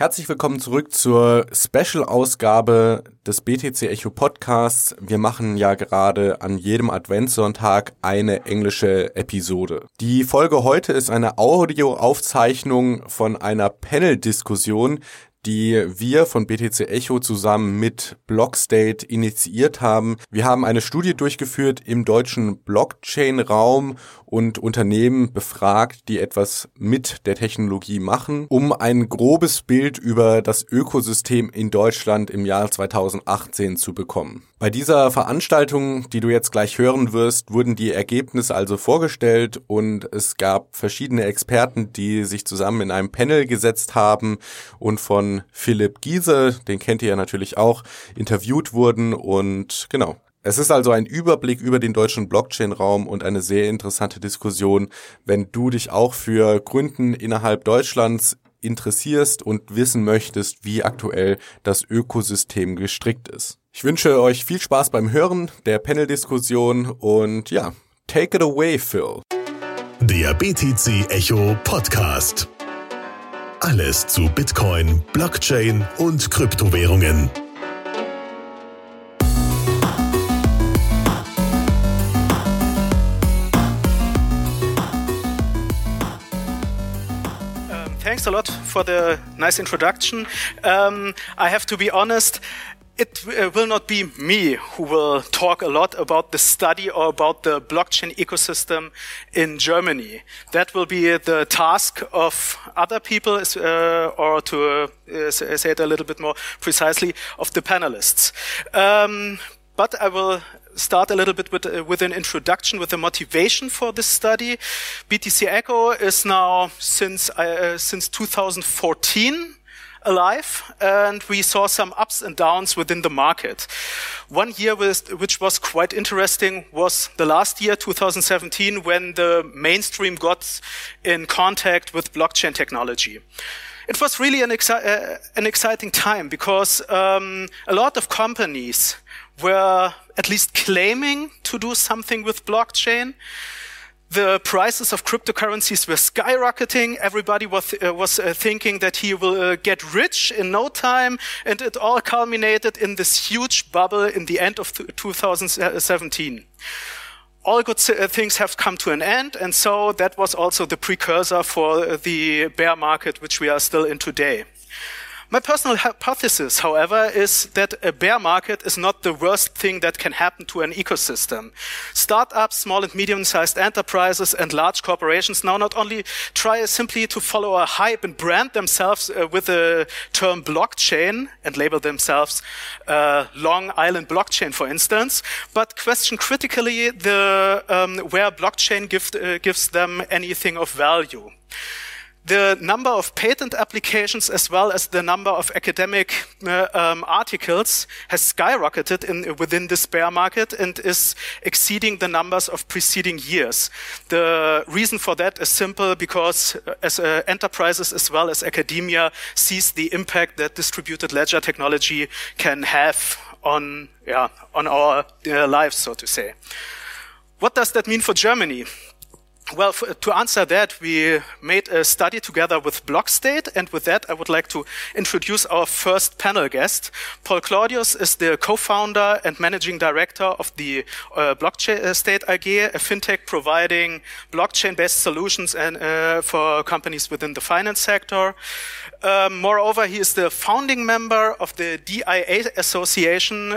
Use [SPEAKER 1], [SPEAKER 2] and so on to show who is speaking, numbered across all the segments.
[SPEAKER 1] Herzlich willkommen zurück zur Special-Ausgabe des BTC Echo Podcasts. Wir machen ja gerade an jedem Adventssonntag eine englische Episode. Die Folge heute ist eine Audioaufzeichnung von einer Panel-Diskussion, die wir von BTC Echo zusammen mit Blockstate initiiert haben. Wir haben eine Studie durchgeführt im deutschen Blockchain-Raum und Unternehmen befragt, die etwas mit der Technologie machen, um ein grobes Bild über das Ökosystem in Deutschland im Jahr 2018 zu bekommen. Bei dieser Veranstaltung, die du jetzt gleich hören wirst, wurden die Ergebnisse also vorgestellt und es gab verschiedene Experten, die sich zusammen in einem Panel gesetzt haben und von Philipp Giese, den kennt ihr ja natürlich auch, interviewt wurden und genau. Es ist also ein Überblick über den deutschen Blockchain-Raum und eine sehr interessante Diskussion, wenn du dich auch für Gründen innerhalb Deutschlands interessierst und wissen möchtest, wie aktuell das Ökosystem gestrickt ist. Ich wünsche euch viel Spaß beim Hören der Panel-Diskussion und ja, take it away, Phil.
[SPEAKER 2] Der BTC Echo Podcast. Alles zu Bitcoin, Blockchain und Kryptowährungen.
[SPEAKER 3] Thanks a lot for the nice introduction. I have to be honest, it will not be me who will talk a lot about the study or about the blockchain ecosystem in Germany. That will be the task of other people, or to say it a little bit more precisely, of the panelists. But I will start a little bit with an introduction, with the motivation for this study. BTC Echo is now since 2014 alive, and we saw some ups and downs within the market. One year which was quite interesting was the last year, 2017, when the mainstream got in contact with blockchain technology. It was really an exciting time because a lot of companies were at least claiming to do something with blockchain. The prices of cryptocurrencies were skyrocketing. Everybody was thinking that he will get rich in no time, and it all culminated in this huge bubble in the end of 2017. All good things have come to an end, and so that was also the precursor for the bear market which we are still in today. My personal hypothesis, however, is that a bear market is not the worst thing that can happen to an ecosystem. Startups, small and medium-sized enterprises, and large corporations now not only try simply to follow a hype and brand themselves with the term blockchain and label themselves Long Island blockchain, for instance, but question critically where blockchain gives them anything of value. The number of patent applications as well as the number of academic articles has skyrocketed within this bear market and is exceeding the numbers of preceding years. The reason for that is simple, because as enterprises as well as academia sees the impact that distributed ledger technology can have on our lives, so to say. What does that mean for Germany? Well, to answer that, we made a study together with Blockstate, and with that, I would like to introduce our first panel guest. Paul Claudius is the co-founder and managing director of the Blockstate AG, a fintech providing blockchain-based solutions for companies within the finance sector. Moreover, he is the founding member of the DIA Association.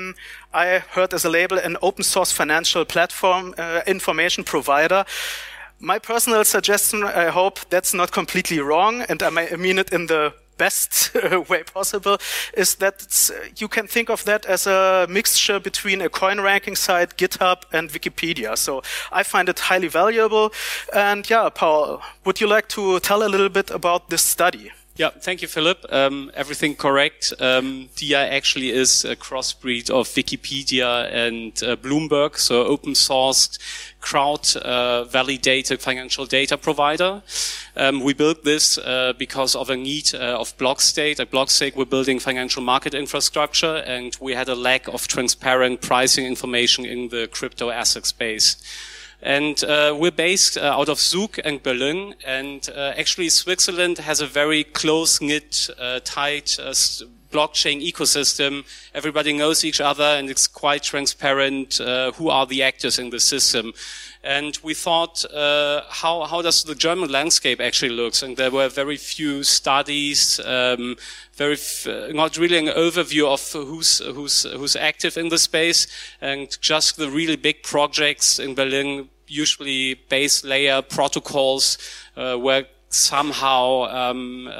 [SPEAKER 3] I heard as a label an open source financial platform information provider. My personal suggestion, I hope that's not completely wrong, and I mean it in the best way possible, is that you can think of that as a mixture between a coin ranking site, GitHub, and Wikipedia. So I find it highly valuable. And yeah, Paul, would you like to tell a little bit about this study?
[SPEAKER 4] Yeah, thank you, Philip. Everything correct. DIA actually is a crossbreed of Wikipedia and Bloomberg, so open-sourced, crowd-validated financial data provider. We built this because of a need of Blockstate. At Blockstate, we're building financial market infrastructure, and we had a lack of transparent pricing information in the crypto asset space. And we're based out of Zug and Berlin. And actually, Switzerland has a very close-knit, tight blockchain ecosystem. Everybody knows each other, and it's quite transparent who are the actors in the system. And we thought, how does the German landscape actually look? And there were very few studies, not really an overview of who's active in the space, and just the really big projects in Berlin, usually base layer protocols, were somehow,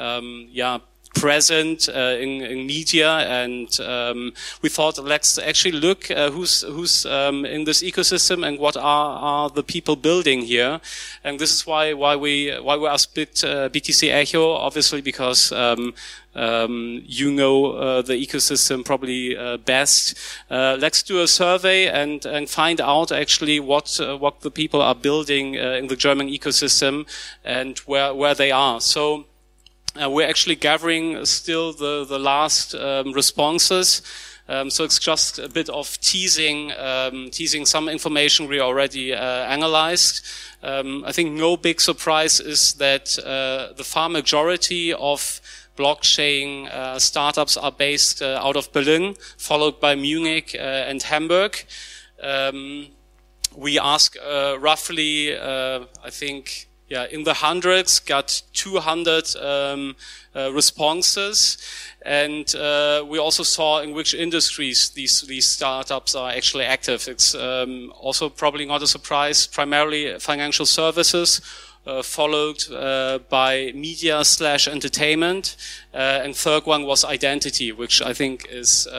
[SPEAKER 4] present in media, and we thought, let's actually look who's in this ecosystem and what are the people building here. And this is why we asked BTC Echo, obviously, because the ecosystem probably best. Let's do a survey and find out actually what the people are building in the German ecosystem and where they are. So we're actually gathering still the last responses. So it's just a bit of teasing some information we already analyzed. I think no big surprise is that the far majority of blockchain startups are based out of Berlin, followed by Munich and Hamburg. We ask roughly, I think, in the hundreds, got 200 responses, and we also saw in which industries these startups are actually active. It's also probably not a surprise, primarily financial services, followed by media/entertainment, and third one was identity, which I think is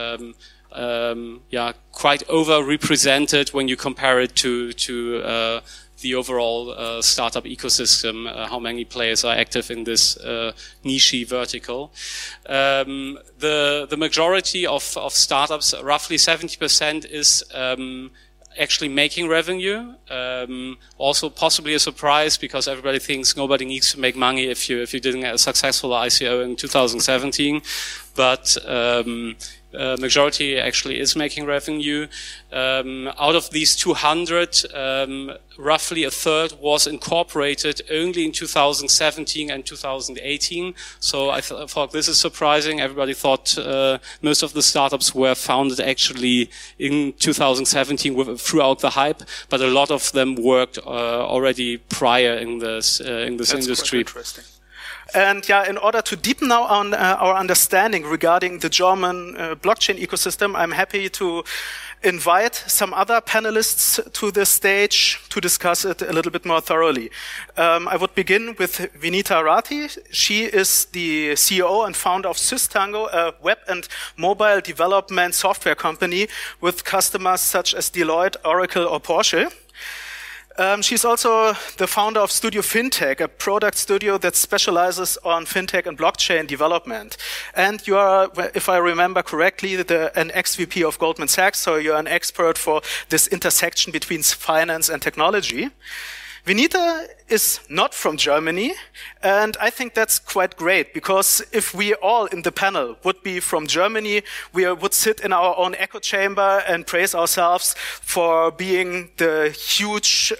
[SPEAKER 4] quite overrepresented when you compare it to the overall startup ecosystem, how many players are active in this niche vertical. The majority of startups, roughly 70%, is actually making revenue. Also possibly a surprise, because everybody thinks nobody needs to make money if you didn't get a successful ICO in 2017. But majority actually is making revenue. Out of these 200, roughly a third was incorporated only in 2017 and 2018. So I thought this is surprising. Everybody thought most of the startups were founded actually in 2017 throughout the hype, but a lot of them worked already prior in this industry.
[SPEAKER 3] Quite interesting. And in order to deepen now on our understanding regarding the German blockchain ecosystem, I'm happy to invite some other panelists to the stage to discuss it a little bit more thoroughly. I would begin with Vinita Rathi. She is the CEO and founder of Systango, a web and mobile development software company with customers such as Deloitte, Oracle, or Porsche. She's also the founder of Studio Fintech, a product studio that specializes on fintech and blockchain development. And you are, if I remember correctly, an ex-VP of Goldman Sachs, so you're an expert for this intersection between finance and technology. Vinita is not from Germany, and I think that's quite great, because if we all in the panel would be from Germany, we would sit in our own echo chamber and praise ourselves for being the huge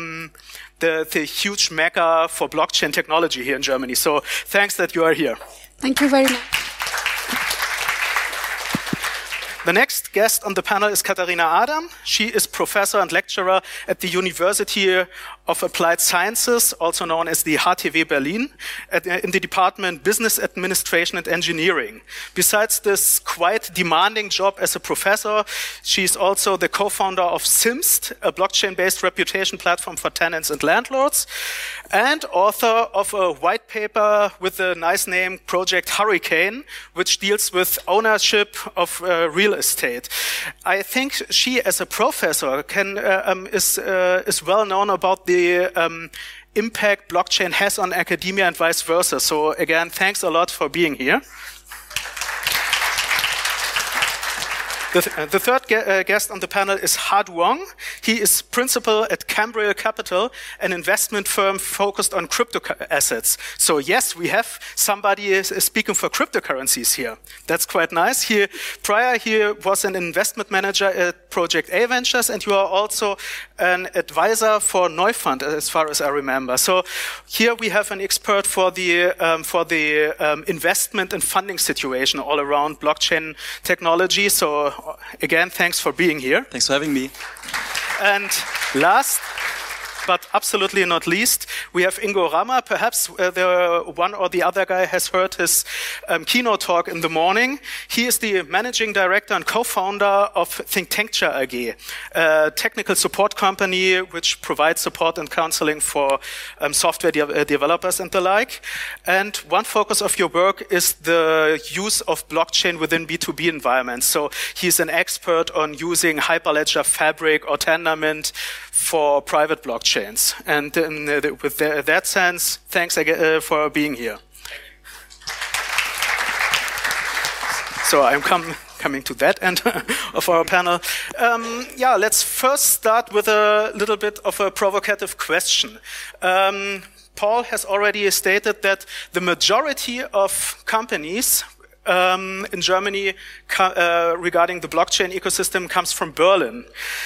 [SPEAKER 3] huge mecca for blockchain technology here in Germany. So thanks that you are here.
[SPEAKER 5] Thank you very much.
[SPEAKER 3] The next guest on the panel is Katharina Adam. She is professor and lecturer at the University of Applied Sciences, also known as the HTW Berlin, in the department Business Administration and Engineering. Besides this quite demanding job as a professor, she's also the co-founder of Simst, a blockchain-based reputation platform for tenants and landlords, and author of a white paper with the nice name Project Hurricane, which deals with ownership of real estate. I think she, as a professor, is well known about the impact blockchain has on academia and vice versa. So again, thanks a lot for being here. The third guest on the panel is Ha Duong. He is principal at Cambriel Capital, an investment firm focused on crypto assets. So yes, we have somebody is speaking for cryptocurrencies here. That's quite nice. Prior he was an investment manager at Project A Ventures, and you are also an advisor for Neufund, as far as I remember. So here we have an expert for the investment and funding situation all around blockchain technology. So again, thanks for being here.
[SPEAKER 5] Thanks for having me.
[SPEAKER 3] And last but absolutely not least, we have Ingo Rammer. Perhaps the one or the other guy has heard his keynote talk in the morning. He is the managing director and co-founder of ThinkTancture AG, a technical support company which provides support and counseling for software developers and the like. And one focus of your work is the use of blockchain within B2B environments. So he's an expert on using Hyperledger Fabric or Tendermint for private blockchains. And with that sense, thanks again for being here. So I'm coming to that end of our panel. Let's first start with a little bit of a provocative question. Paul has already stated that the majority of companies in Germany regarding the blockchain ecosystem comes from Berlin.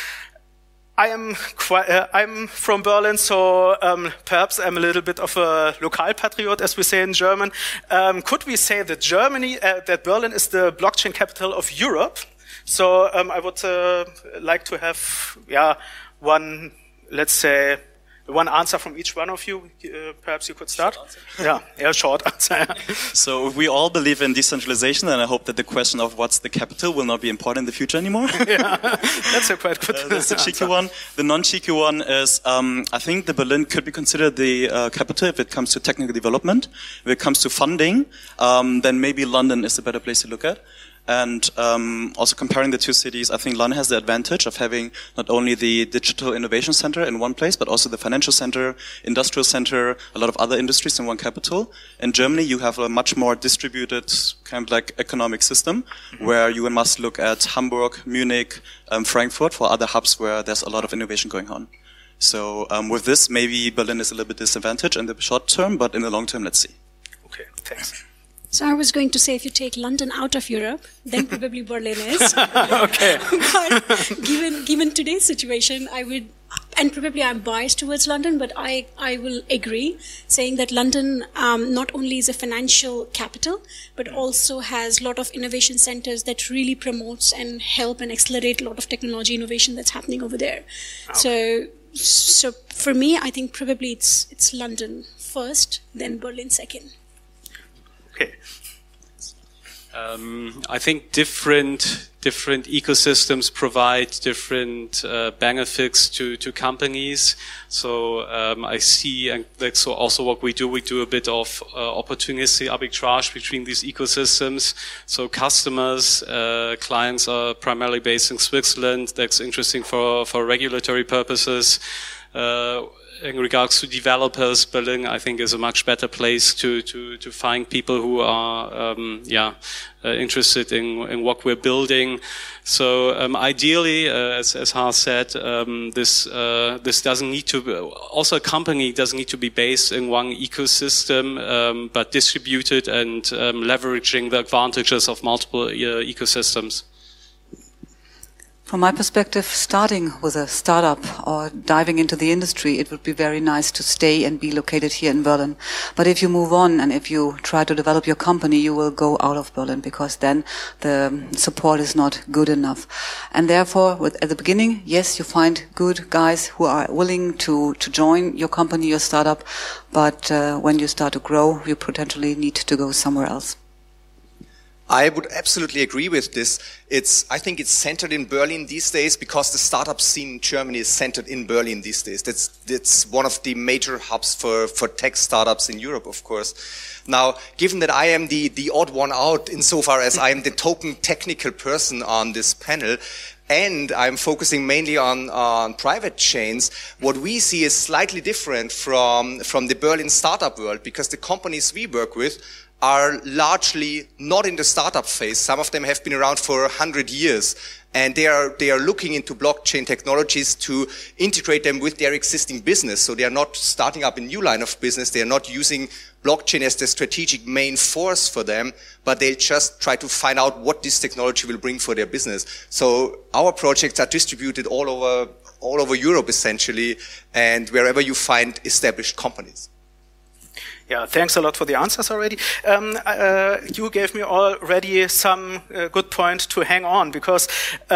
[SPEAKER 3] I'm from Berlin, so perhaps I'm a little bit of a Lokalpatriot, as we say in German. Could we say that that Berlin is the blockchain capital of Europe? So I would like to have, one, let's say, one answer from each one of you. Perhaps you could start. Short answer.
[SPEAKER 5] So we all believe in decentralization, and I hope that the question of what's the capital will not be important in the future anymore.
[SPEAKER 3] That's a quite good
[SPEAKER 5] That's the cheeky one. The non-cheeky one is, I think the Berlin could be considered the capital if it comes to technical development. If it comes to funding, then maybe London is a better place to look at. And also comparing the two cities, I think London has the advantage of having not only the digital innovation center in one place, but also the financial center, industrial center, a lot of other industries in one capital. In Germany, you have a much more distributed kind of like economic system, where you must look at Hamburg, Munich, Frankfurt for other hubs where there's a lot of innovation going on. So with this, maybe Berlin is a little bit disadvantaged in the short term, but in the long term, let's see.
[SPEAKER 3] Okay, thanks.
[SPEAKER 6] So I was going to say, if you take London out of Europe, then probably Berlin is.
[SPEAKER 3] Okay.
[SPEAKER 6] But given today's situation, I would, and probably I'm biased towards London, but I will agree, saying that London not only is a financial capital, but also has a lot of innovation centers that really promotes and help and accelerate a lot of technology innovation that's happening over there. Okay. So for me, I think probably it's London first, then Berlin second.
[SPEAKER 3] Okay.
[SPEAKER 4] I think different ecosystems provide different benefits to companies. So I see, and that's also what we do. We do a bit of opportunistic arbitrage between these ecosystems. So customers, clients are primarily based in Switzerland. That's interesting for regulatory purposes. In regards to developers, Berlin, I think, is a much better place to find people who are, interested in what we're building. So, ideally, as Hans said, this doesn't need to, also a company doesn't need to be based in one ecosystem, but distributed and, leveraging the advantages of multiple ecosystems.
[SPEAKER 7] From my perspective, starting with a startup or diving into the industry, it would be very nice to stay and be located here in Berlin. But if you move on and if you try to develop your company, you will go out of Berlin, because then the support is not good enough. And therefore, at the beginning, yes, you find good guys who are willing to join your company, your startup. But when you start to grow, you potentially need to go somewhere else.
[SPEAKER 8] I would absolutely agree with this. I think it's centered in Berlin these days because the startup scene in Germany is centered in Berlin these days. That's one of the major hubs for tech startups in Europe, of course. Now, given that I am the odd one out insofar as I am the token technical person on this panel, and I'm focusing mainly on private chains, what we see is slightly different from the Berlin startup world, because the companies we work with are largely not in the startup phase. Some of them have been around for 100 years. And they are looking into blockchain technologies to integrate them with their existing business. So they are not starting up a new line of business. They are not using blockchain as the strategic main force for them, but they just try to find out what this technology will bring for their business. So our projects are distributed all over Europe essentially, and wherever you find established companies.
[SPEAKER 3] Yeah, thanks a lot for the answers already. You gave me already some good point to hang on, because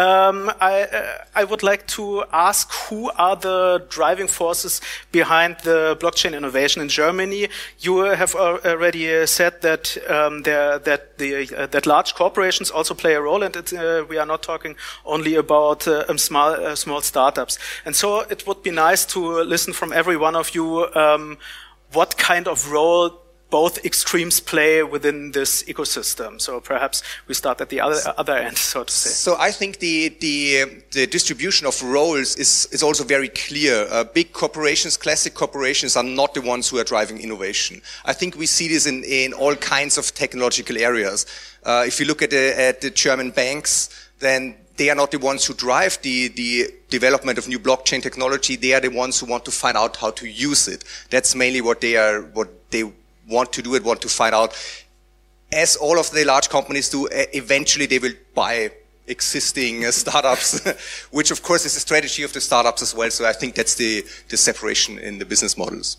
[SPEAKER 3] I would like to ask, who are the driving forces behind the blockchain innovation in Germany? You have already said that that large corporations also play a role, and we are not talking only about small startups. And so it would be nice to listen from every one of you what kind of role both extremes play within this ecosystem. So perhaps we start at the other end, so to say.
[SPEAKER 8] So I think the distribution of roles is also very clear. Big corporations, classic corporations, are not the ones who are driving innovation. I think we see this in all kinds of technological areas. If you look at the German banks, then they are not the ones who drive the development of new blockchain technology. They are the ones who want to find out how to use it. That's mainly what they want to do and want to find out. As all of the large companies do, eventually they will buy existing startups, which of course is the strategy of the startups as well. So I think that's the separation in the business models.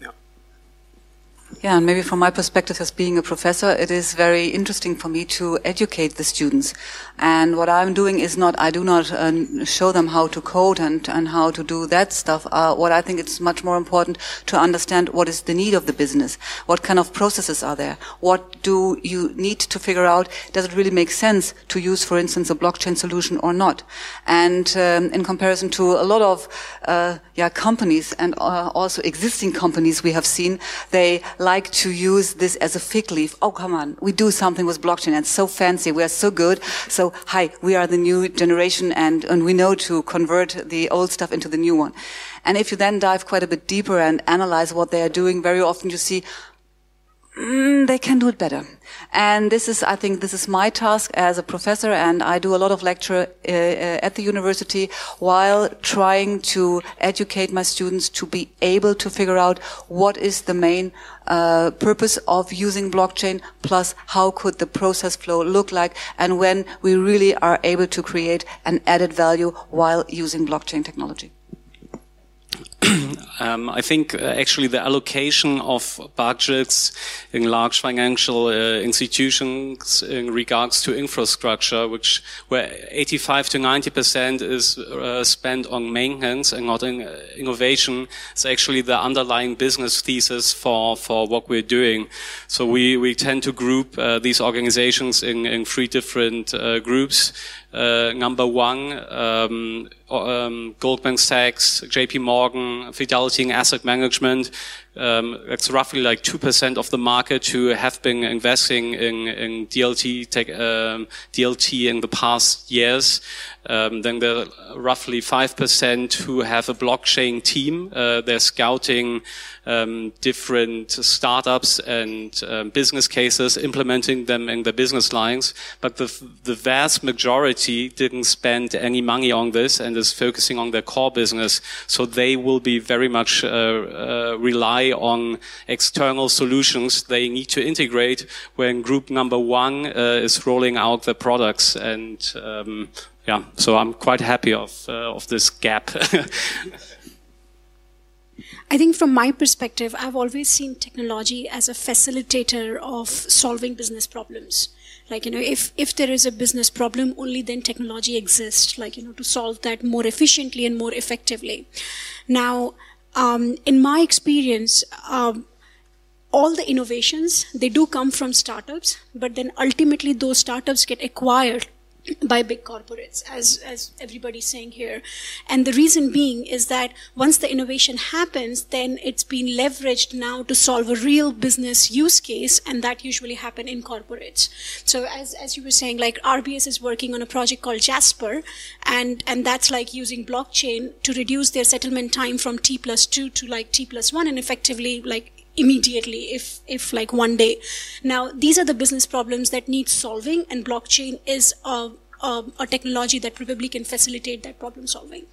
[SPEAKER 7] Yeah, and maybe from my perspective as being a professor, it is very interesting for me to educate the students. And what I'm doing is I do not show them how to code and how to do that stuff. What I think it's much more important to understand what is the need of the business. What kind of processes are there? What do you need to figure out? Does it really make sense to use, for instance, a blockchain solution or not? And in comparison to a lot of companies and also existing companies we have seen, they like to use this as a fig leaf. Oh, come on, we do something with blockchain. It's so fancy. We are so good. So, hi, we are the new generation and we know to convert the old stuff into the new one. And if you then dive quite a bit deeper and analyze what they are doing, very often you see they can do it better. And I think this is my task as a professor, and I do a lot of lecture at the university while trying to educate my students to be able to figure out what is the main purpose of using blockchain, plus how could the process flow look like, and when we really are able to create an added value while using blockchain technology.
[SPEAKER 4] I think actually the allocation of budgets in large financial institutions in regards to infrastructure, where 85 to 90% is spent on maintenance and not in innovation, is actually the underlying business thesis for what we're doing. So we tend to group these organizations in three different groups. Number one, Goldman Sachs, JP Morgan, Fidelity and Asset Management. It's roughly like 2% of the market who have been investing in DLT in the past years. Then there are roughly 5% who have a blockchain team. They're scouting different startups and business cases, implementing them in their business lines. But the vast majority didn't spend any money on this and is focusing on their core business. So they will be very much rely on external solutions they need to integrate when group number one is rolling out their products. And so I'm quite happy of this gap.
[SPEAKER 6] I think from my perspective, I've always seen technology as a facilitator of solving business problems. Like, if there is a business problem, only then technology exists, to solve that more efficiently and more effectively. Now, in my experience, all the innovations, they do come from startups, but then ultimately those startups get acquired by big corporates, as everybody's saying here. And the reason being is that once the innovation happens, then it's been leveraged now to solve a real business use case, and that usually happen in corporates. So as you were saying, like RBS is working on a project called Jasper, and that's like using blockchain to reduce their settlement time from T+2 to like T+1, and effectively like immediately if like one day. Now, these are the business problems that need solving, and blockchain is a technology that probably can facilitate that problem solving.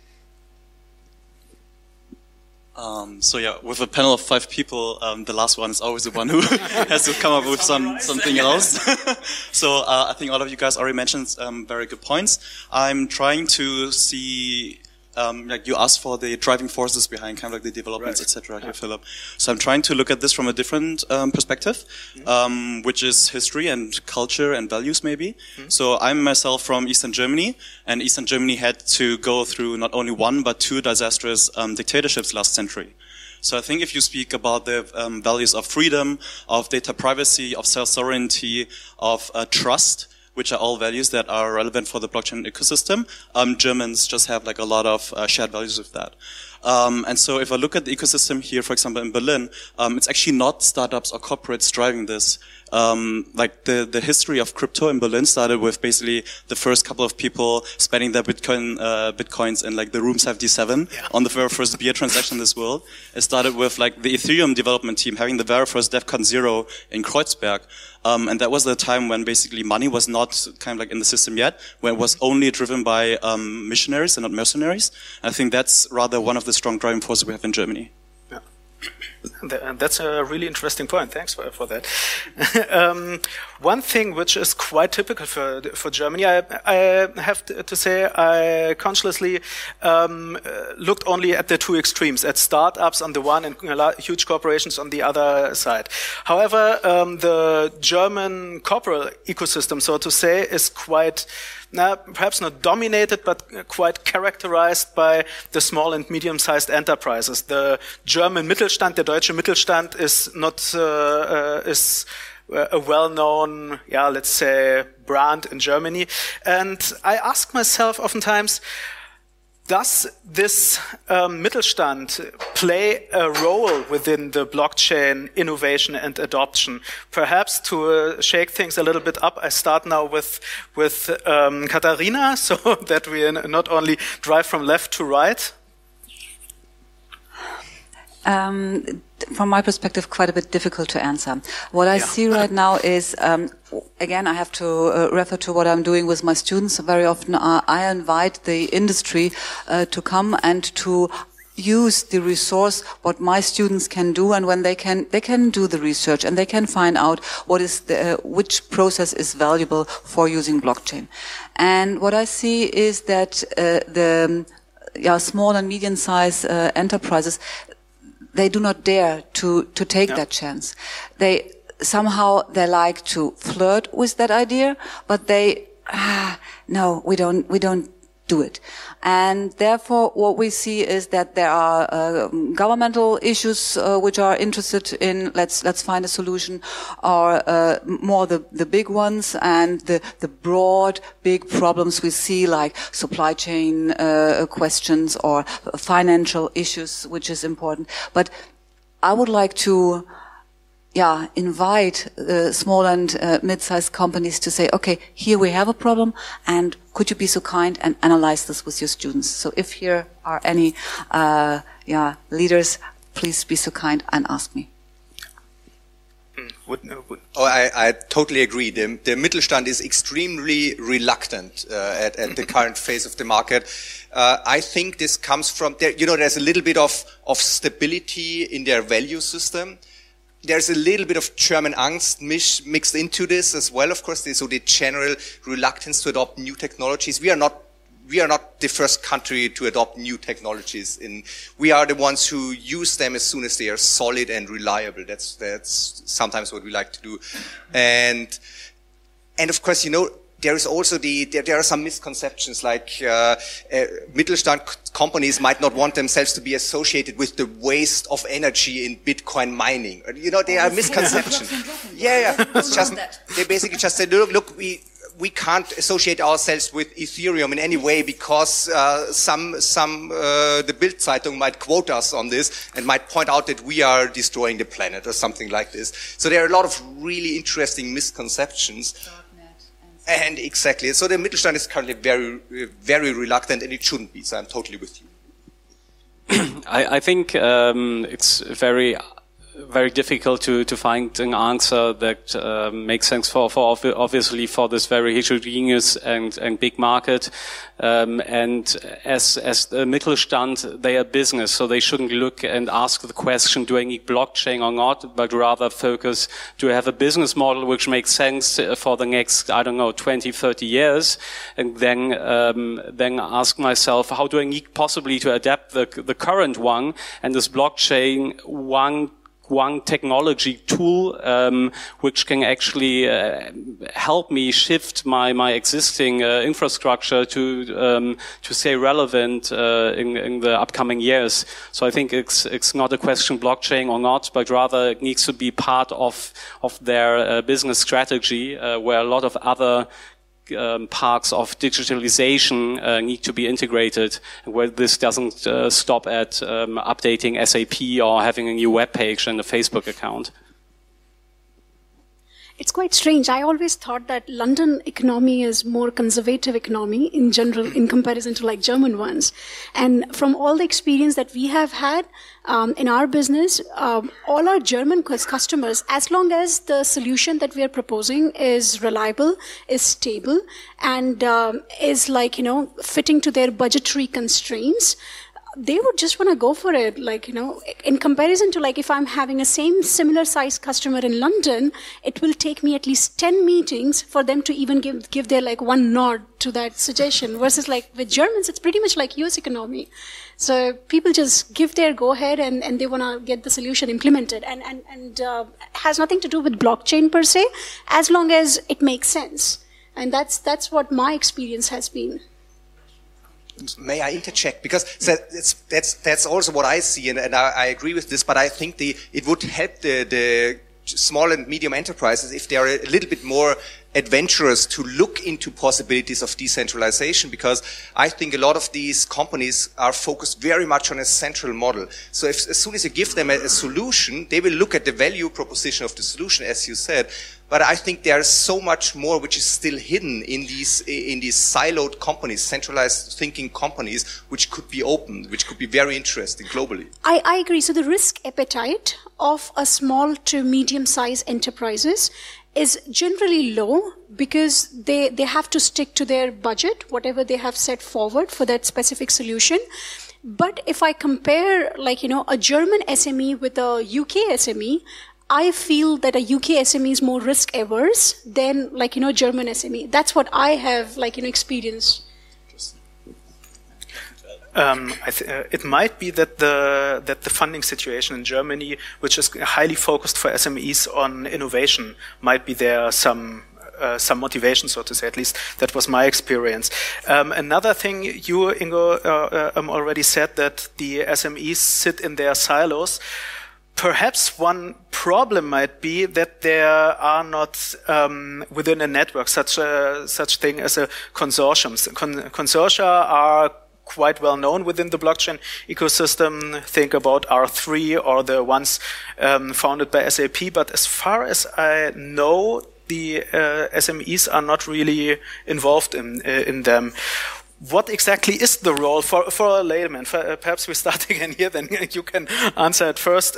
[SPEAKER 5] So yeah, with a panel of 5 people, the last one is always the one who has to come up with something else. So I think all of you guys already mentioned very good points. I'm trying to see, like you asked for the driving forces behind kind of like the developments, etc. here, Philip. So I'm trying to look at this from a different perspective, which is history and culture and values maybe. So I'm myself from Eastern Germany, and Eastern Germany had to go through not only 1 but 2 disastrous dictatorships last century. So I think if you speak about the values of freedom, of data privacy, of self-sovereignty, of trust, which are all values that are relevant for the blockchain ecosystem, Germans just have like a lot of shared values with that. And so if I look at the ecosystem here, for example, in Berlin, it's actually not startups or corporates driving this. Like the history of crypto in Berlin started with basically the first couple of people spending their bitcoins in like the room 77 on the very first beer transaction in this world. It started with like the Ethereum development team having the very first DEFCON 0 in Kreuzberg. And that was the time when basically money was not kind of like in the system yet, when it was only driven by missionaries and not mercenaries. And I think that's rather one of the strong driving forces we have in Germany.
[SPEAKER 3] And that's a really interesting point. Thanks for that. One thing which is quite typical for Germany, I have to say, I consciously looked only at the 2 extremes, at startups on the one and huge corporations on the other side. However, the German corporate ecosystem, so to say, is quite perhaps not dominated, but quite characterized by the small and medium-sized enterprises. The German Mittelstand, der deutsche Mittelstand, is not is a well-known, let's say, brand in Germany. And I ask myself oftentimes, does this Mittelstand play a role within the blockchain innovation and adoption? Perhaps to shake things a little bit up, I start now with Katharina, so that we not only drive from left to right.
[SPEAKER 7] From my perspective, quite a bit difficult to answer. What I see right now is, again, I have to refer to what I'm doing with my students. Very often I invite the industry to come and to use the resource, what my students can do, and when they can do the research and they can find out what is which process is valuable for using blockchain. And what I see is that the small and medium-sized enterprises, they do not dare to take that chance. They like to flirt with that idea, but no, we don't do it. And therefore, what we see is that there are governmental issues which are interested in let's find a solution, or more the big ones, and the broad big problems we see, like supply chain questions or financial issues, which is important. But I would like to invite small and mid-sized companies to say, okay, here we have a problem, and could you be so kind and analyze this with your students? So if here are any leaders, please be so kind and ask me.
[SPEAKER 8] I totally agree. The Mittelstand is extremely reluctant at the current phase of the market. I think this comes from there's a little bit of stability in their value system. There's a little bit of German angst mixed into this as well, of course. So the general reluctance to adopt new technologies. We are not the first country to adopt new technologies. We are the ones who use them as soon as they are solid and reliable. That's sometimes what we like to do. And of course, there is also there are some misconceptions, like Mittelstand companies might not want themselves to be associated with the waste of energy in Bitcoin mining. They are misconceptions. It's just, they basically just say, look, we can't associate ourselves with Ethereum in any way because the Bild Zeitung might quote us on this and might point out that we are destroying the planet or something like this. So there are a lot of really interesting misconceptions. And exactly. So the Mittelstand is currently very, very reluctant, and it shouldn't be. So I'm totally with you.
[SPEAKER 4] I think it's very very difficult to find an answer that makes sense for obviously for this very heterogeneous and big market. And as the Mittelstand, they are business, so they shouldn't look and ask the question, do I need blockchain or not, but rather focus, do I have a business model which makes sense for the next, 20, 30 years? And then ask myself, how do I need possibly to adapt the current one, and this blockchain one technology tool which can actually help me shift my existing infrastructure to stay relevant in the upcoming years. So I think it's not a question blockchain or not, but rather it needs to be part of their business strategy, where a lot of other parts of digitalization need to be integrated, where this doesn't stop at updating SAP or having a new web page and a Facebook account.
[SPEAKER 6] It's quite strange. I always thought that London economy is more conservative economy in general in comparison to like German ones. And from all the experience that we have had in our business, all our German customers, as long as the solution that we are proposing is reliable, is stable, and is fitting to their budgetary constraints, they would just want to go for it. In comparison to if I'm having a similar size customer in London, it will take me at least 10 meetings for them to even give their one nod to that suggestion, versus with Germans, it's pretty much like US economy. So people just give their go ahead and they want to get the solution implemented, and has nothing to do with blockchain per se, as long as it makes sense. And that's what my experience has been.
[SPEAKER 8] May I interject? Because that's also what I see, and I agree with this, but I think it would help the small and medium enterprises if they are a little bit more adventurous to look into possibilities of decentralization, because I think a lot of these companies are focused very much on a central model. So as soon as you give them a solution, they will look at the value proposition of the solution, as you said. But I think there is so much more which is still hidden in these siloed companies, centralized thinking companies, which could be opened, which could be very interesting globally.
[SPEAKER 6] I agree. So the risk appetite of a small to medium-sized enterprises is generally low, because they have to stick to their budget, whatever they have set forward for that specific solution. But if I compare a German SME with a UK SME, I feel that a UK SME is more risk averse than German SME. That's what I have experienced.
[SPEAKER 3] It might be that the funding situation in Germany, which is highly focused for SMEs on innovation, might be there some motivation, so to say. At least that was my experience. Another thing, you, Ingo, already said that the SMEs sit in their silos. Perhaps one problem might be that there are not within a network such thing as a consortium. Consortia are quite well known within the blockchain ecosystem. Think about R3 or the ones founded by SAP. But as far as I know, the SMEs are not really involved in them. What exactly is the role for a layman? Perhaps we start again here, then you can answer it first.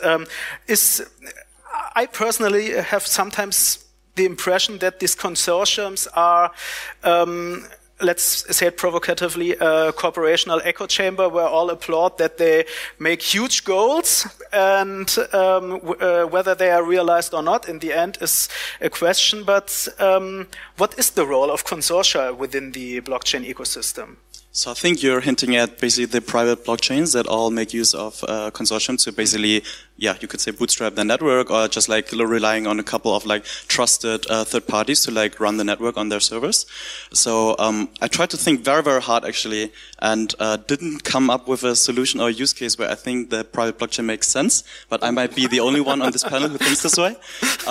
[SPEAKER 3] I personally have sometimes the impression that these consortiums are, let's say it provocatively, a corporational echo chamber where all applaud that they make huge goals, and whether they are realized or not in the end is a question. But what is the role of consortia within the blockchain ecosystem?
[SPEAKER 5] So I think you're hinting at basically the private blockchains that all make use of consortiums to basically, you could say bootstrap the network, or just relying on a couple of trusted third parties to run the network on their servers. So I tried to think very, very hard actually, and didn't come up with a solution or a use case where I think the private blockchain makes sense, but I might be the only one on this panel who thinks this way.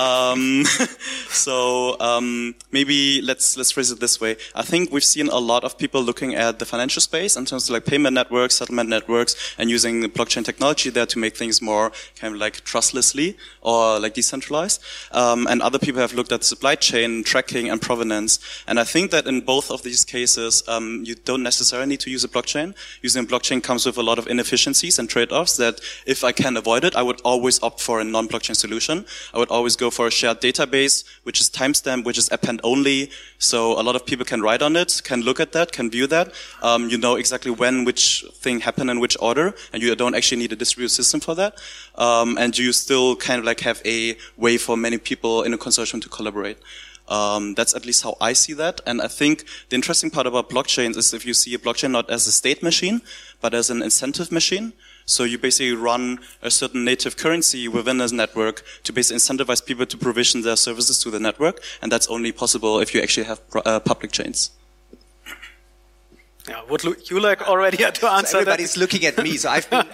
[SPEAKER 5] Maybe let's phrase it this way. I think we've seen a lot of people looking at the financial space in terms of payment networks, settlement networks, and using the blockchain technology there to make things more kind of like trustlessly or like decentralized. And other people have looked at supply chain tracking and provenance. And I think that in both of these cases, you don't necessarily need to use a blockchain. Using a blockchain comes with a lot of inefficiencies and trade-offs that if I can avoid it, I would always opt for a non-blockchain solution. I would always go for a shared database, which is timestamp, which is append only. So a lot of people can write on it, can look at that, can view that. You know exactly when which thing happened in which order, and you don't actually need a distributed system for that. And you still kind of like have a way for many people in a consortium to collaborate. That's at least how I see that. And I think the interesting part about blockchains is if you see a blockchain not as a state machine, but as an incentive machine. So you basically run a certain native currency within this network to basically incentivize people to provision their services to the network. And that's only possible if you actually have public chains.
[SPEAKER 3] Yeah, would you like already to answer
[SPEAKER 8] everybody's
[SPEAKER 3] that?
[SPEAKER 8] looking at me, so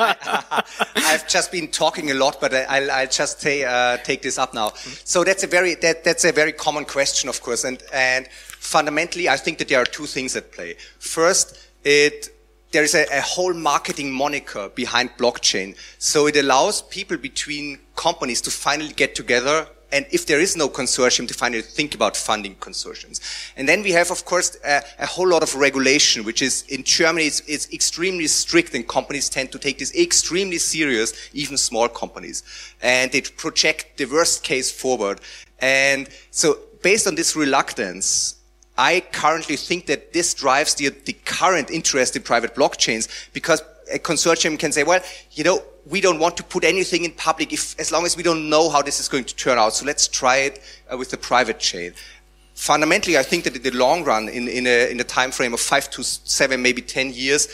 [SPEAKER 8] I've just been talking a lot, but I'll just take this up now. So that's a very common question, of course, and fundamentally, I think that there are two things at play. First, there is a whole marketing moniker behind blockchain, so it allows people between companies to finally get together. And if there is no consortium, to finally think about funding consortiums. And then we have, of course, a whole lot of regulation, which is in Germany, it's extremely strict, and companies tend to take this extremely serious, even small companies. And they project the worst case forward. And so based on this reluctance, I currently think that this drives the current interest in private blockchains, because a consortium can say, well, you know, we don't want to put anything in public as long as we don't know how this is going to turn out. So let's try it with the private chain. Fundamentally, I think that in the long run, in a time frame of 5 to 7, maybe 10 years,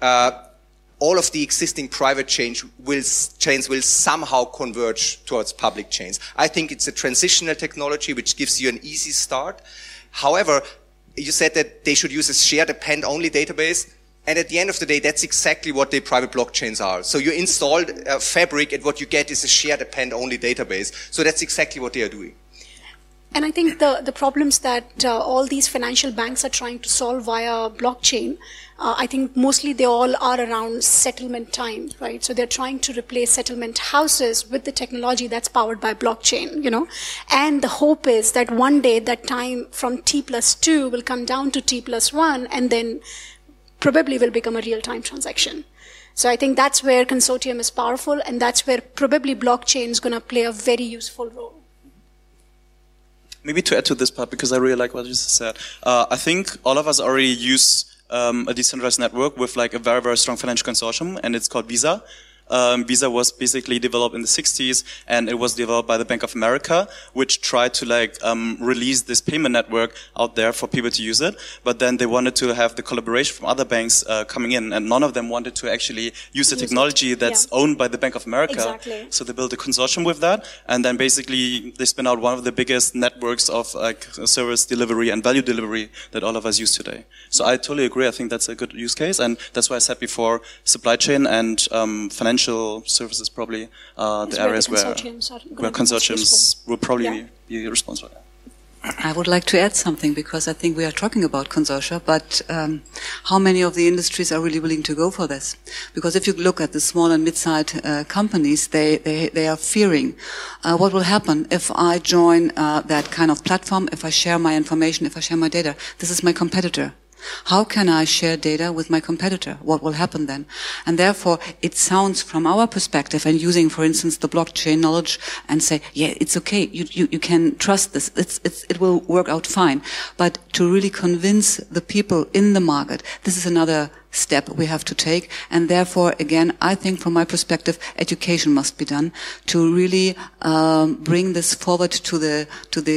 [SPEAKER 8] all of the existing private chains will somehow converge towards public chains. I think it's a transitional technology which gives you an easy start. However, you said that they should use a shared append-only database. And at the end of the day, that's exactly what the private blockchains are. So you install Fabric, and what you get is a shared append-only database. So that's exactly what they are doing.
[SPEAKER 6] And I think the problems that all these financial banks are trying to solve via blockchain, I think mostly they all are around settlement time, right? So they're trying to replace settlement houses with the technology that's powered by blockchain, you know. And the hope is that one day that time from T+2 will come down to T+1, and then probably will become a real-time transaction. So I think that's where consortium is powerful, and that's where probably blockchain is going to play a very useful role.
[SPEAKER 5] Maybe to add to this part, because I really like what you just said, I think all of us already use a decentralized network with like a very, very strong financial consortium, and it's called Visa. Visa was basically developed in the 60s, and it was developed by the Bank of America, which tried to like release this payment network out there for people to use it. But then they wanted to have the collaboration from other banks coming in, and none of them wanted to actually use the technology that's owned by the Bank of America.
[SPEAKER 6] Exactly.
[SPEAKER 5] So they built a consortium with that, and then basically they spin out one of the biggest networks of like service delivery and value delivery that all of us use today. So I totally agree. I think that's a good use case, and that's why I said before, supply chain and financial services probably the areas where consortiums will probably be responsible.
[SPEAKER 7] I would like to add something, because I think we are talking about consortia, but how many of the industries are really willing to go for this? Because if you look at the small and mid-sized companies, they are fearing what will happen if I join that kind of platform, if I share my information, if I share my data. This is my competitor. How can I share data with my competitor? What will happen then? And therefore, it sounds from our perspective, and using, for instance, the blockchain knowledge, and say, yeah, it's okay. You can trust this. It will work out fine. But to really convince the people in the market, this is another step we have to take. And therefore, again, I think from my perspective, education must be done to really bring this forward to the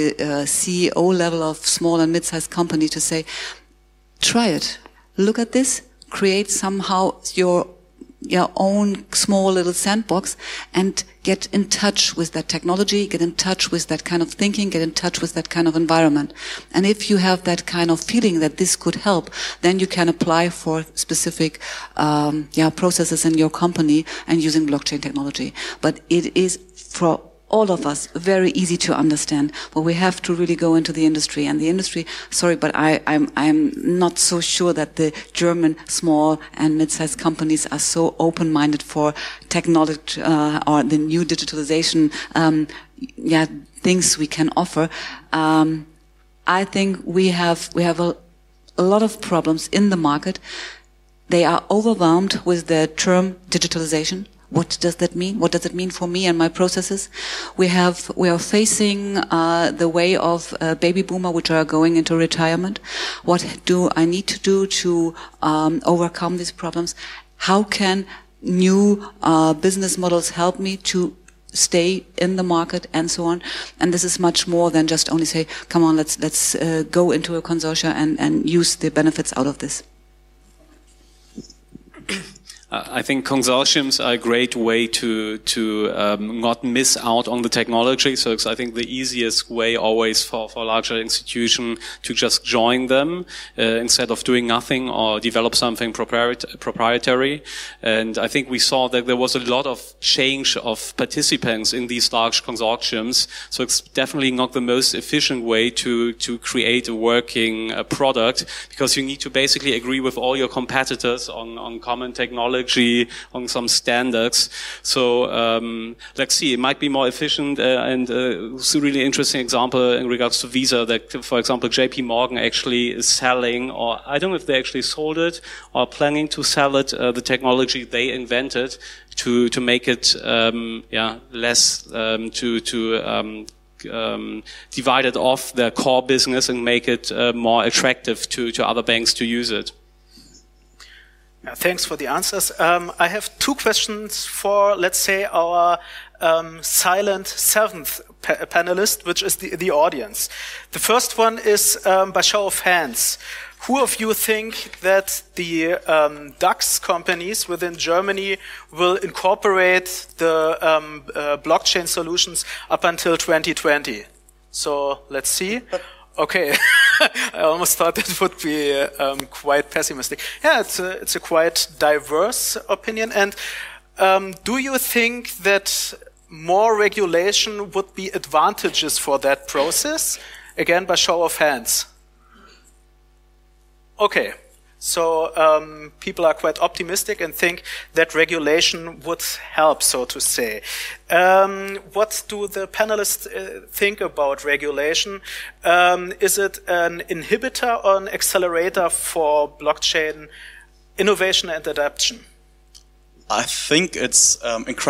[SPEAKER 7] CEO level of small and mid-sized company to say, try it. Look at this. Create somehow your own small little sandbox, and get in touch with that technology, get in touch with that kind of thinking, get in touch with that kind of environment. And if you have that kind of feeling that this could help, then you can apply for specific processes in your company and using blockchain technology. But it is for all of us very easy to understand, but we have to really go into the industry. And the industry, sorry, but I'm not so sure that the German small and mid-sized companies are so open-minded for technology or the new digitalization things we can offer. I think we have a lot of problems in the market. They are overwhelmed with the term digitalization. What does that mean? What does it mean for me and my processes? We are facing the way of baby boomer, which are going into retirement. What do I need to do to overcome these problems? How can new business models help me to stay in the market and so on? And this is much more than just only say, come on, let's go into a consortia and use the benefits out of this.
[SPEAKER 4] I think consortiums are a great way to not miss out on the technology. So it's, I think, the easiest way always for a larger institution to just join them instead of doing nothing or develop something proprietary. And I think we saw that there was a lot of change of participants in these large consortiums. So it's definitely not the most efficient way to create a working product, because you need to basically agree with all your competitors on common technology, on some standards. So let's see, it might be more efficient, and it's a really interesting example in regards to Visa that, for example, JP Morgan actually is selling, or I don't know if they actually sold it or planning to sell it, the technology they invented to make it less divided off their core business and make it more attractive to other banks to use it.
[SPEAKER 3] Thanks for the answers. I have two questions for, let's say, our silent seventh panelist, which is the audience. The first one is by show of hands. Who of you think that the DAX companies within Germany will incorporate the blockchain solutions up until 2020? So let's see. Okay, I almost thought that would be quite pessimistic. Yeah, it's a quite diverse opinion. And do you think that more regulation would be advantageous for that process? Again, by show of hands. Okay, so people are quite optimistic and think that regulation would help, so to say. What do the panelists think about regulation? Is it an inhibitor or an accelerator for blockchain innovation and adoption?
[SPEAKER 5] I think it's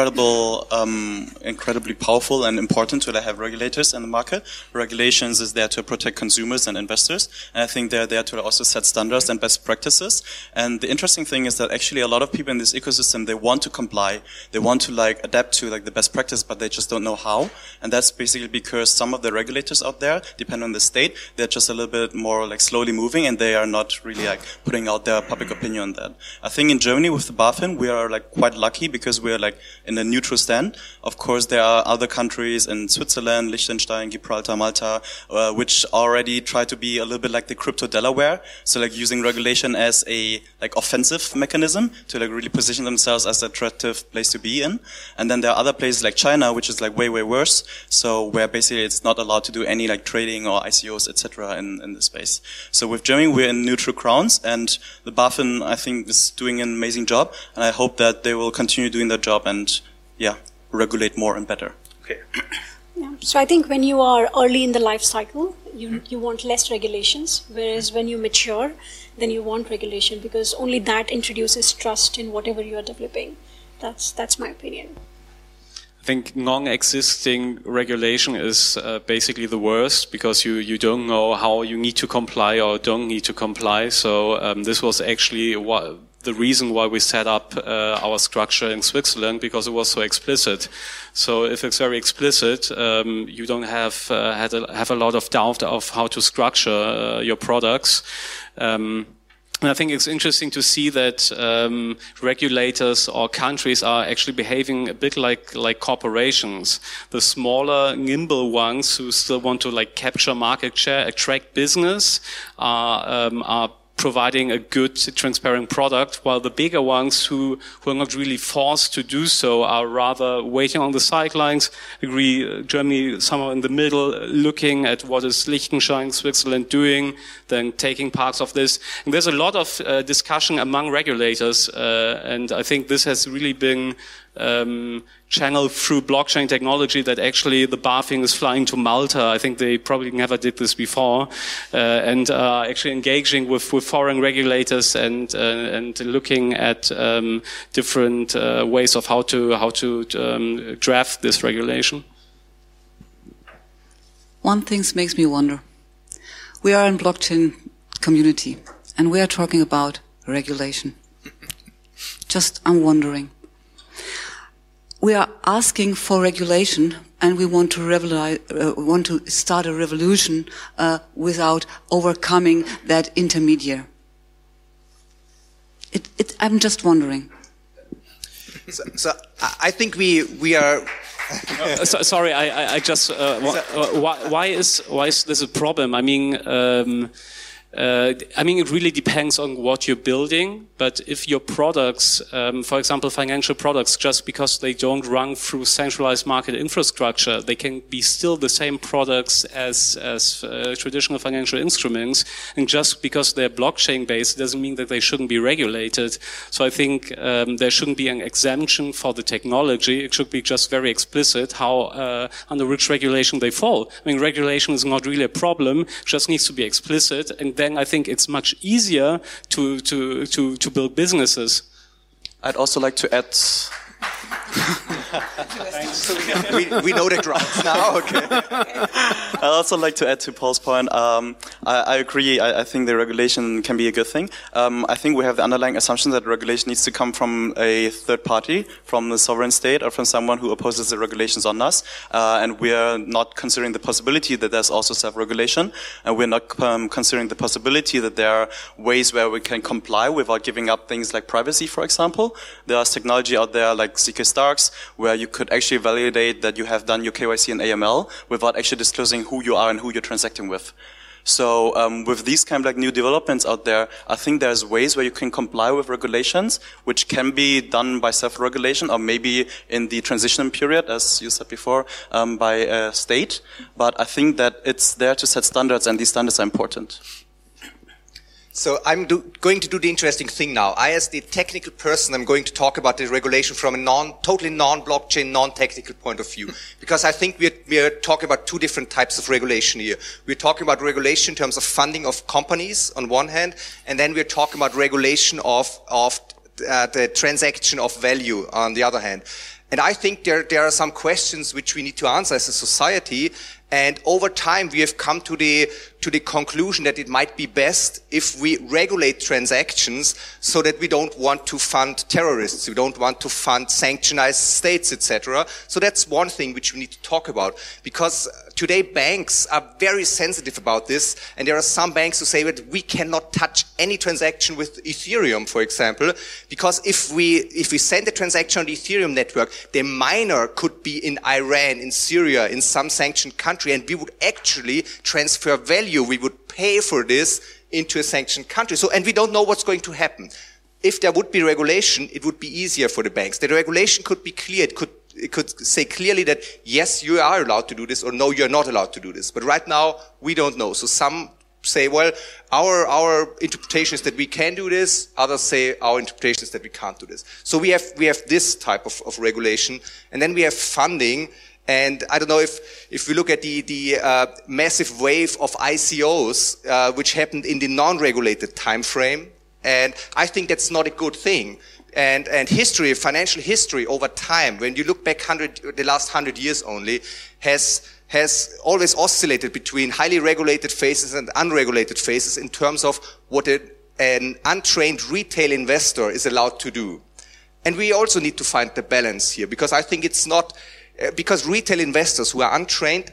[SPEAKER 5] incredibly powerful and important to have regulators in the market. Regulations is there to protect consumers and investors, and I think they're there to also set standards and best practices. And the interesting thing is that actually a lot of people in this ecosystem, they want to comply, they want to adapt to the best practice, but they just don't know how. And that's basically because some of the regulators out there, depending on the state, they're just a little bit more slowly moving, and they are not really putting out their public opinion on that. I think in Germany with the BaFin, we are quite lucky because we're in a neutral stand. Of course, there are other countries in Switzerland, Liechtenstein, Gibraltar, Malta, which already try to be a little bit like the crypto Delaware. So using regulation as a offensive mechanism to really position themselves as an attractive place to be in. And then there are other places like China, which is way worse. So where basically it's not allowed to do any trading or ICOs, etc. in the space. So with Germany, we're in neutral grounds, and the BaFin, I think, is doing an amazing job, and I hope that they will continue doing their job and regulate more and better.
[SPEAKER 3] Okay.
[SPEAKER 6] Yeah. So I think when you are early in the life cycle, you want less regulations, whereas when you mature, then you want regulation, because only that introduces trust in whatever you are developing. That's my opinion.
[SPEAKER 4] I think non-existing regulation is basically the worst, because you don't know how you need to comply or don't need to comply. So this was actually the reason why we set up our structure in Switzerland, because it was so explicit. So if it's very explicit, you don't have a lot of doubt of how to structure your products. And I think it's interesting to see that regulators or countries are actually behaving a bit like corporations. The smaller, nimble ones who still want to capture market share, attract business, are providing a good, transparent product, while the bigger ones who are not really forced to do so are rather waiting on the sidelines. Germany somewhere in the middle, looking at what is Liechtenstein, Switzerland doing, then taking parts of this. And there's a lot of discussion among regulators, and I think this has really been channeled through blockchain technology, that actually the BaFin is flying to Malta. I think they probably never did this before, and actually engaging with foreign regulators and looking at different ways of how to draft this regulation.
[SPEAKER 7] One thing makes me wonder. We are in blockchain community, and we are talking about regulation. I'm wondering. We are asking for regulation, and we want to start a revolution without overcoming that intermediary. I'm just wondering.
[SPEAKER 8] So I think we are.
[SPEAKER 4] Sorry, I just. Why is this a problem? I mean, it really depends on what you're building. But if your products, for example, financial products, just because they don't run through centralized market infrastructure, they can be still the same products as traditional financial instruments. And just because they're blockchain based doesn't mean that they shouldn't be regulated. So I think there shouldn't be an exemption for the technology. It should be just very explicit how under which regulation they fall. I mean, regulation is not really a problem; it just needs to be explicit, and then I think it's much easier to build businesses.
[SPEAKER 5] I'd also like to add.
[SPEAKER 8] we know the grounds now. Okay.
[SPEAKER 5] I'd also like to add to Paul's point. I agree. I think the regulation can be a good thing. I think we have the underlying assumption that regulation needs to come from a third party, from the sovereign state, or from someone who opposes the regulations on us. And we are not considering the possibility that there's also self-regulation. And we're not considering the possibility that there are ways where we can comply without giving up things like privacy, for example. There's technology out there like ZK Starks, where you could actually validate that you have done your KYC and AML without actually disclosing who you are and who you're transacting with. So with these kind of like new developments out there, I think there's ways where you can comply with regulations, which can be done by self-regulation or maybe in the transition period, as you said before, by a state. But I think that it's there to set standards, and these standards are important.
[SPEAKER 8] So I'm going to do the interesting thing now. I, as the technical person, I'm going to talk about the regulation from a totally non-blockchain, non-technical point of view. Because I think we are talking about two different types of regulation here. We're talking about regulation in terms of funding of companies on one hand, and then we're talking about regulation of the transaction of value on the other hand. And I think there are some questions which we need to answer as a society. And over time, we have come to the conclusion that it might be best if we regulate transactions so that we don't want to fund terrorists, we don't want to fund sanctionized states, etc. So that's one thing which we need to talk about, because today banks are very sensitive about this, and there are some banks who say that we cannot touch any transaction with Ethereum, for example, because if we send a transaction on the Ethereum network, the miner could be in Iran, in Syria, in some sanctioned country, and we would actually transfer value. We would pay for this into a sanctioned country. So, and we don't know what's going to happen. If there would be regulation, it would be easier for the banks. The regulation could be clear. It could say clearly that yes, you are allowed to do this, or no, you're not allowed to do this. But right now, we don't know. So some say, well, our interpretation is that we can do this. Others say our interpretation is that we can't do this. So we have this type of regulation, and then we have funding. And I don't know if we look at the massive wave of ICOs, which happened in the non-regulated time frame, and I think that's not a good thing. And history, financial history over time, when you look back the last 100 years only, has always oscillated between highly regulated phases and unregulated phases in terms of what an untrained retail investor is allowed to do. And we also need to find the balance here, because I think it's not. Because retail investors who are untrained,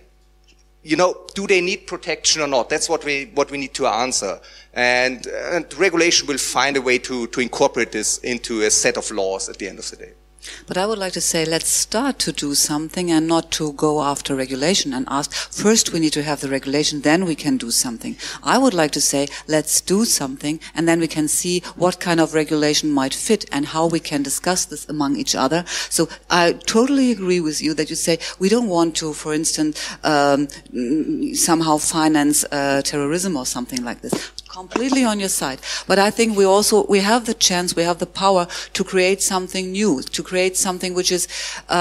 [SPEAKER 8] do they need protection or not? That's what we need to answer. And regulation will find a way to incorporate this into a set of laws at the end of the day.
[SPEAKER 7] But I would like to say, let's start to do something and not to go after regulation and ask, first we need to have the regulation, then we can do something. I would like to say, let's do something and then we can see what kind of regulation might fit and how we can discuss this among each other. So I totally agree with you that you say we don't want to, for instance, somehow finance terrorism or something like this. Completely on your side. But I think we have the chance, we have the power to create something new, to create something which is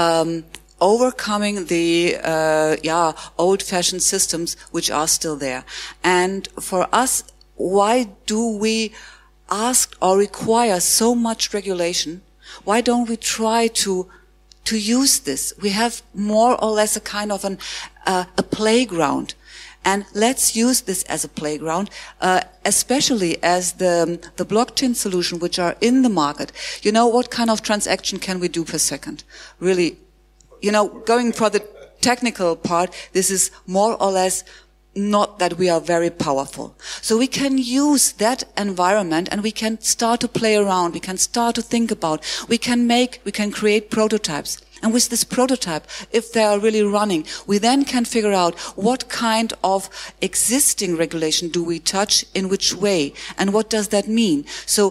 [SPEAKER 7] overcoming the old-fashioned systems which are still there. And for us, why do we ask or require so much regulation? Why don't we try to use this? We have more or less a kind of a playground. And let's use this as a playground, especially as the blockchain solution which are in the market. You know, what kind of transaction can we do per second? Really, you know, going for the technical part, this is more or less not that we are very powerful. So we can use that environment and we can start to play around, we can start to think about, we can create prototypes. And with this prototype, if they are really running, we then can figure out what kind of existing regulation do we touch, in which way, and what does that mean. So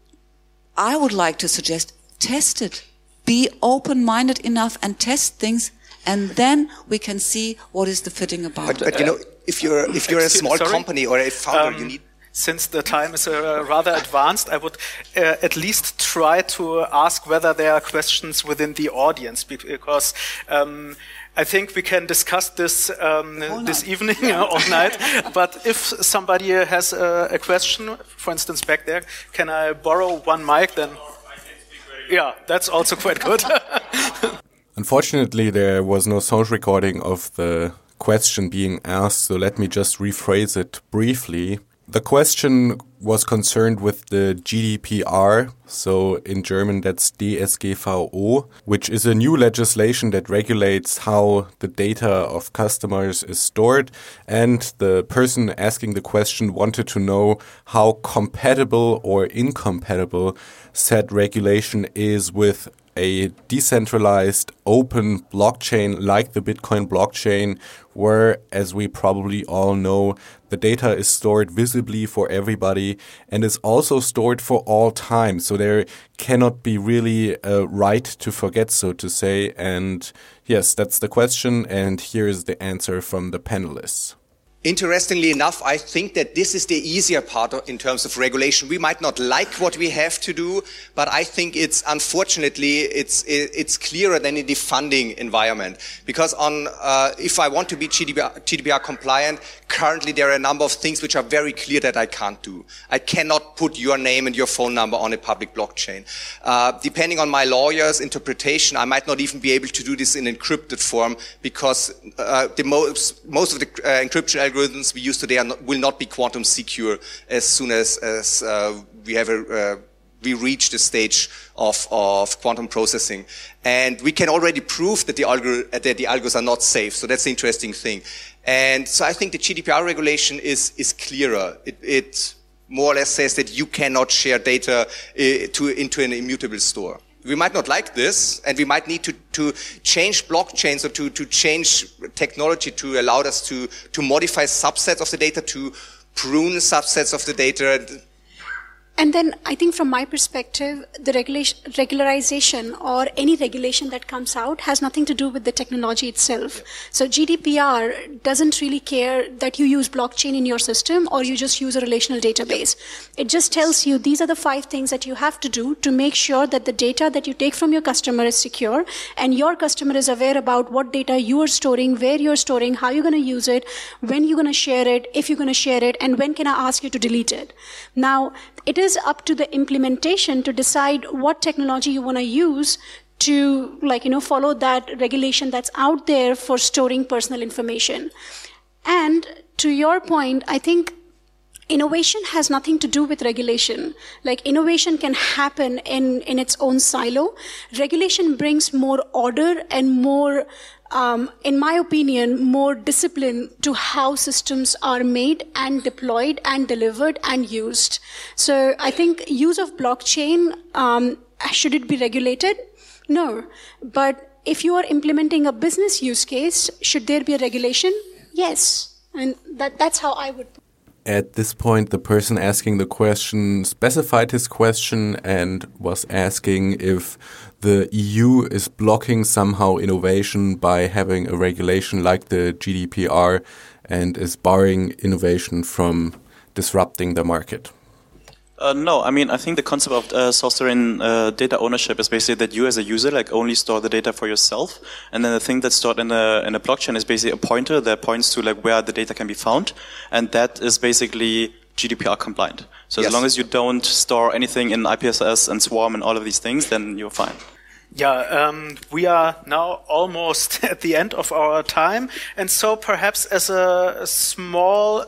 [SPEAKER 7] I would like to suggest, test it. Be open-minded enough and test things, and then we can see what is the fitting about.
[SPEAKER 8] But you know, if you're a small company or a founder, you need...
[SPEAKER 3] Since the time is rather advanced, I would at least try to ask whether there are questions within the audience, because I think we can discuss this this evening all night. But if somebody has a question, for instance, back there, can I borrow one mic? Then, yeah, that's also quite good.
[SPEAKER 1] Unfortunately, there was no sound recording of the question being asked, so let me just rephrase it briefly. The question was concerned with the GDPR, so in German that's DSGVO, which is a new legislation that regulates how the data of customers is stored. And the person asking the question wanted to know how compatible or incompatible said regulation is with a decentralized open blockchain like the Bitcoin blockchain, where, as we probably all know, the data is stored visibly for everybody and is also stored for all time. So there cannot be really a right to forget, so to say. And yes, that's the question. And here is the answer from the panelists.
[SPEAKER 8] Interestingly enough, I think that this is the easier part in terms of regulation. We might not like what we have to do, but I think it's clearer than in the funding environment. Because if I want to be GDPR compliant, currently there are a number of things which are very clear that I can't do. I cannot put your name and your phone number on a public blockchain. Depending on my lawyer's interpretation, I might not even be able to do this in encrypted form, because most of the encryption algorithms we use today will not be quantum secure as soon as we reach the stage of quantum processing. And we can already prove that the algos are not safe. So that's the interesting thing. And so I think the GDPR regulation is clearer. It more or less says that you cannot share data into an immutable store. We might not like this, and we might need to change blockchains or to change technology to allow us to modify subsets of the data, to prune subsets of the data.
[SPEAKER 6] And then I think from my perspective, the regularization or any regulation that comes out has nothing to do with the technology itself. So GDPR doesn't really care that you use blockchain in your system or you just use a relational database. It just tells you these are the 5 things that you have to do to make sure that the data that you take from your customer is secure and your customer is aware about what data you are storing, where you're storing, how you're going to use it, when you're going to share it, if you're going to share it, and when can I ask you to delete it. Now, it is up to the implementation to decide what technology you want to use to, follow that regulation that's out there for storing personal information. And to your point, I think innovation has nothing to do with regulation. Innovation can happen in its own silo. Regulation brings more order and more, in my opinion, more discipline to how systems are made and deployed and delivered and used. So I think use of blockchain, should it be regulated? No, but if you are implementing a business use case, should there be a regulation? Yes, and that's how I would.
[SPEAKER 1] At this point, the person asking the question specified his question and was asking if the EU is blocking somehow innovation by having a regulation like the GDPR and is barring innovation from disrupting the market.
[SPEAKER 5] No, I mean, I think the concept of sovereign data ownership is basically that you as a user only store the data for yourself, and then the thing that's stored in a blockchain is basically a pointer that points to where the data can be found, and that is basically GDPR compliant. So as long as you don't store anything in IPSS and Swarm and all of these things, then you're fine.
[SPEAKER 3] Yeah, we are now almost at the end of our time, and so perhaps as a small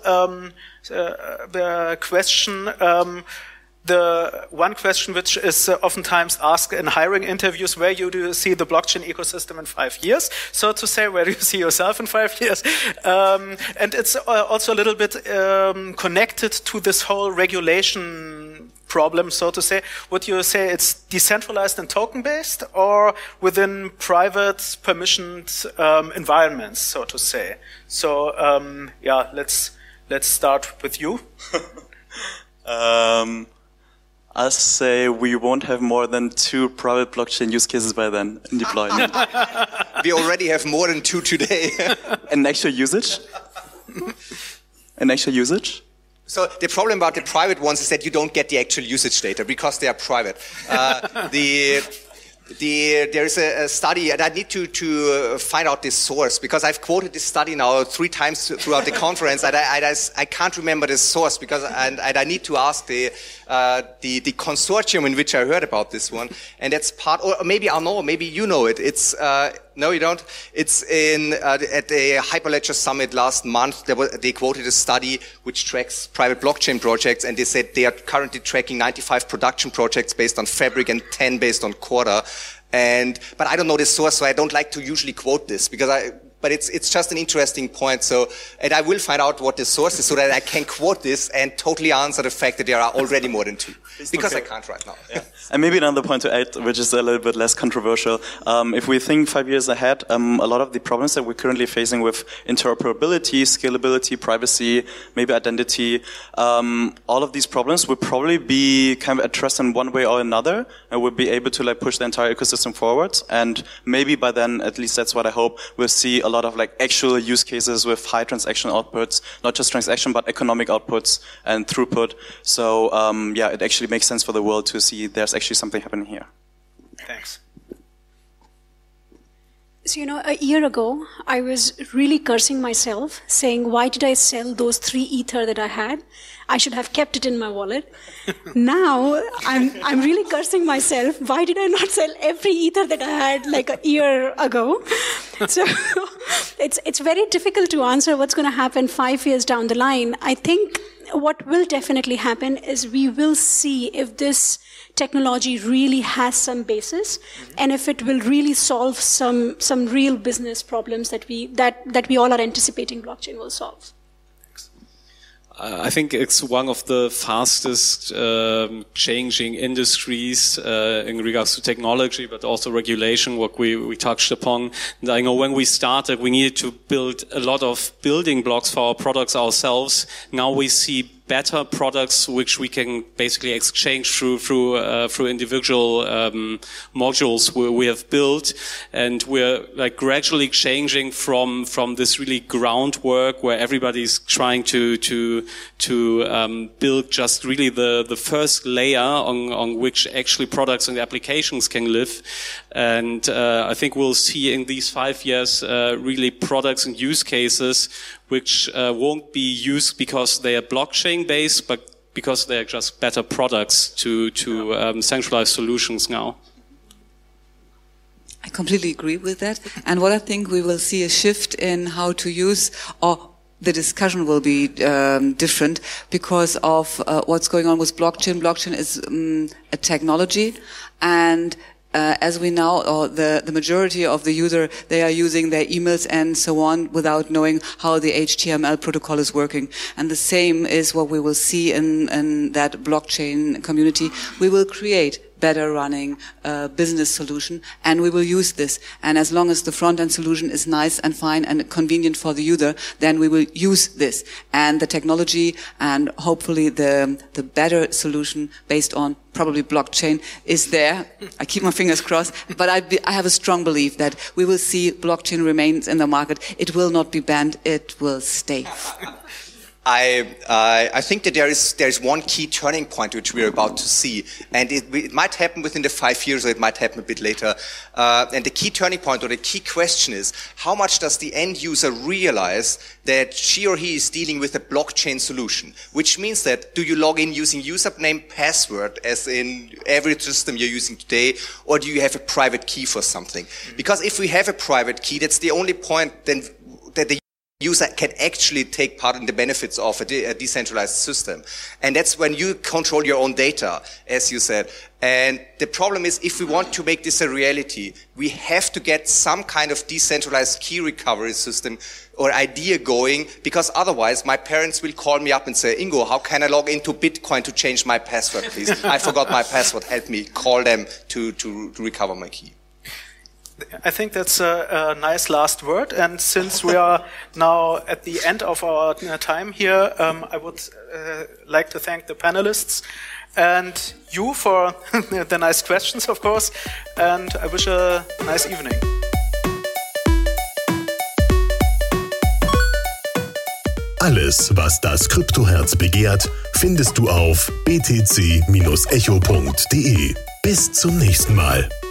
[SPEAKER 3] question, the one question which is oftentimes asked in hiring interviews, where do you see the blockchain ecosystem in 5 years? So to say, where do you see yourself in 5 years? And it's also a little bit connected to this whole regulation problem, so to say. Would you say it's decentralized and token-based, or within private permissioned environments, so to say? So yeah, let's start with you.
[SPEAKER 5] I'll say we won't have more than 2 private blockchain use cases by then in deployment.
[SPEAKER 8] We already have more than 2 today.
[SPEAKER 5] And actual usage?
[SPEAKER 8] So the problem about the private ones is that you don't get the actual usage data because they are private. There is a study, and I need to find out this source, because I've quoted this study now 3 times throughout the conference, and I can't remember the source, because and I need to ask the consortium in which I heard about this one, and that's part, or maybe I'll know, maybe you know it. It's no, you don't. It's at the Hyperledger Summit last month. They quoted a study which tracks private blockchain projects, and they said they are currently tracking 95 production projects based on Fabric and 10 based on Corda. But I don't know the source, so I don't like to usually quote this, but it's just an interesting point. So, and I will find out what the source is so that I can quote this and totally answer the fact that there are already more than 2. Because I can't right now. Yeah.
[SPEAKER 5] And maybe another point to add, which is a little bit less controversial. If we think 5 years ahead, a lot of the problems that we're currently facing with interoperability, scalability, privacy, maybe identity, all of these problems will probably be kind of addressed in one way or another, and we'll be able to push the entire ecosystem forward. And maybe by then, at least that's what I hope, we'll see a lot of actual use cases with high transaction outputs, not just transaction, but economic outputs and throughput. So yeah, it actually makes sense for the world to see there's actually something happening here.
[SPEAKER 3] Thanks.
[SPEAKER 6] So, a year ago, I was really cursing myself, saying, why did I sell those 3 Ether that I had? I should have kept it in my wallet. Now, I'm really cursing myself. Why did I not sell every Ether that I had a year ago? So it's very difficult to answer what's going to happen 5 years down the line. I think what will definitely happen is we will see if this technology really has some basis, and if it will really solve some real business problems that we all are anticipating blockchain will solve.
[SPEAKER 4] I think it's one of the fastest changing industries in regards to technology, but also regulation, what we touched upon. And I know when we started, we needed to build a lot of building blocks for our products ourselves. Now we see better products which we can basically exchange through individual modules we have built, and we're gradually changing from this really groundwork where everybody's trying to build just really the first layer on which actually products and applications can live. And I think we'll see in these 5 years really products and use cases which won't be used because they are blockchain based, but because they are just better products to centralized solutions now.
[SPEAKER 7] I completely agree with that. And what I think we will see a shift in how to use, or the discussion will be different because of what's going on with blockchain. Blockchain is a technology, and as we know, or the majority of the user, they are using their emails and so on without knowing how the HTML protocol is working. And the same is what we will see in that blockchain community. We will create better running business solution, and we will use this. And as long as the front-end solution is nice and fine and convenient for the user, then we will use this. And the technology and hopefully the better solution based on probably blockchain is there. I keep my fingers crossed, but I have a strong belief that we will see blockchain remains in the market. It will not be banned. It will stay.
[SPEAKER 8] I think that there is one key turning point which we're about to see, and it might happen within the 5 years, or it might happen a bit later. And the key turning point, or the key question is, how much does the end user realize that she or he is dealing with a blockchain solution? Which means that, do you log in using username, password, as in every system you're using today, or do you have a private key for something? Because if we have a private key, that's the only point then that the user can actually take part in the benefits of a decentralized system. And that's when you control your own data, as you said. And the problem is, if we want to make this a reality, we have to get some kind of decentralized key recovery system or idea going, because otherwise my parents will call me up and say, Ingo, how can I log into Bitcoin to change my password, please? I forgot my password, help me. Call them to recover my key.
[SPEAKER 3] I think that's a nice last word. And since we are now at the end of our time here, I would like to thank the panelists and you for the nice questions, of course. And I wish a nice evening.
[SPEAKER 2] Alles, was das Kryptoherz begehrt, findest du auf btc-echo.de. Bis zum nächsten Mal.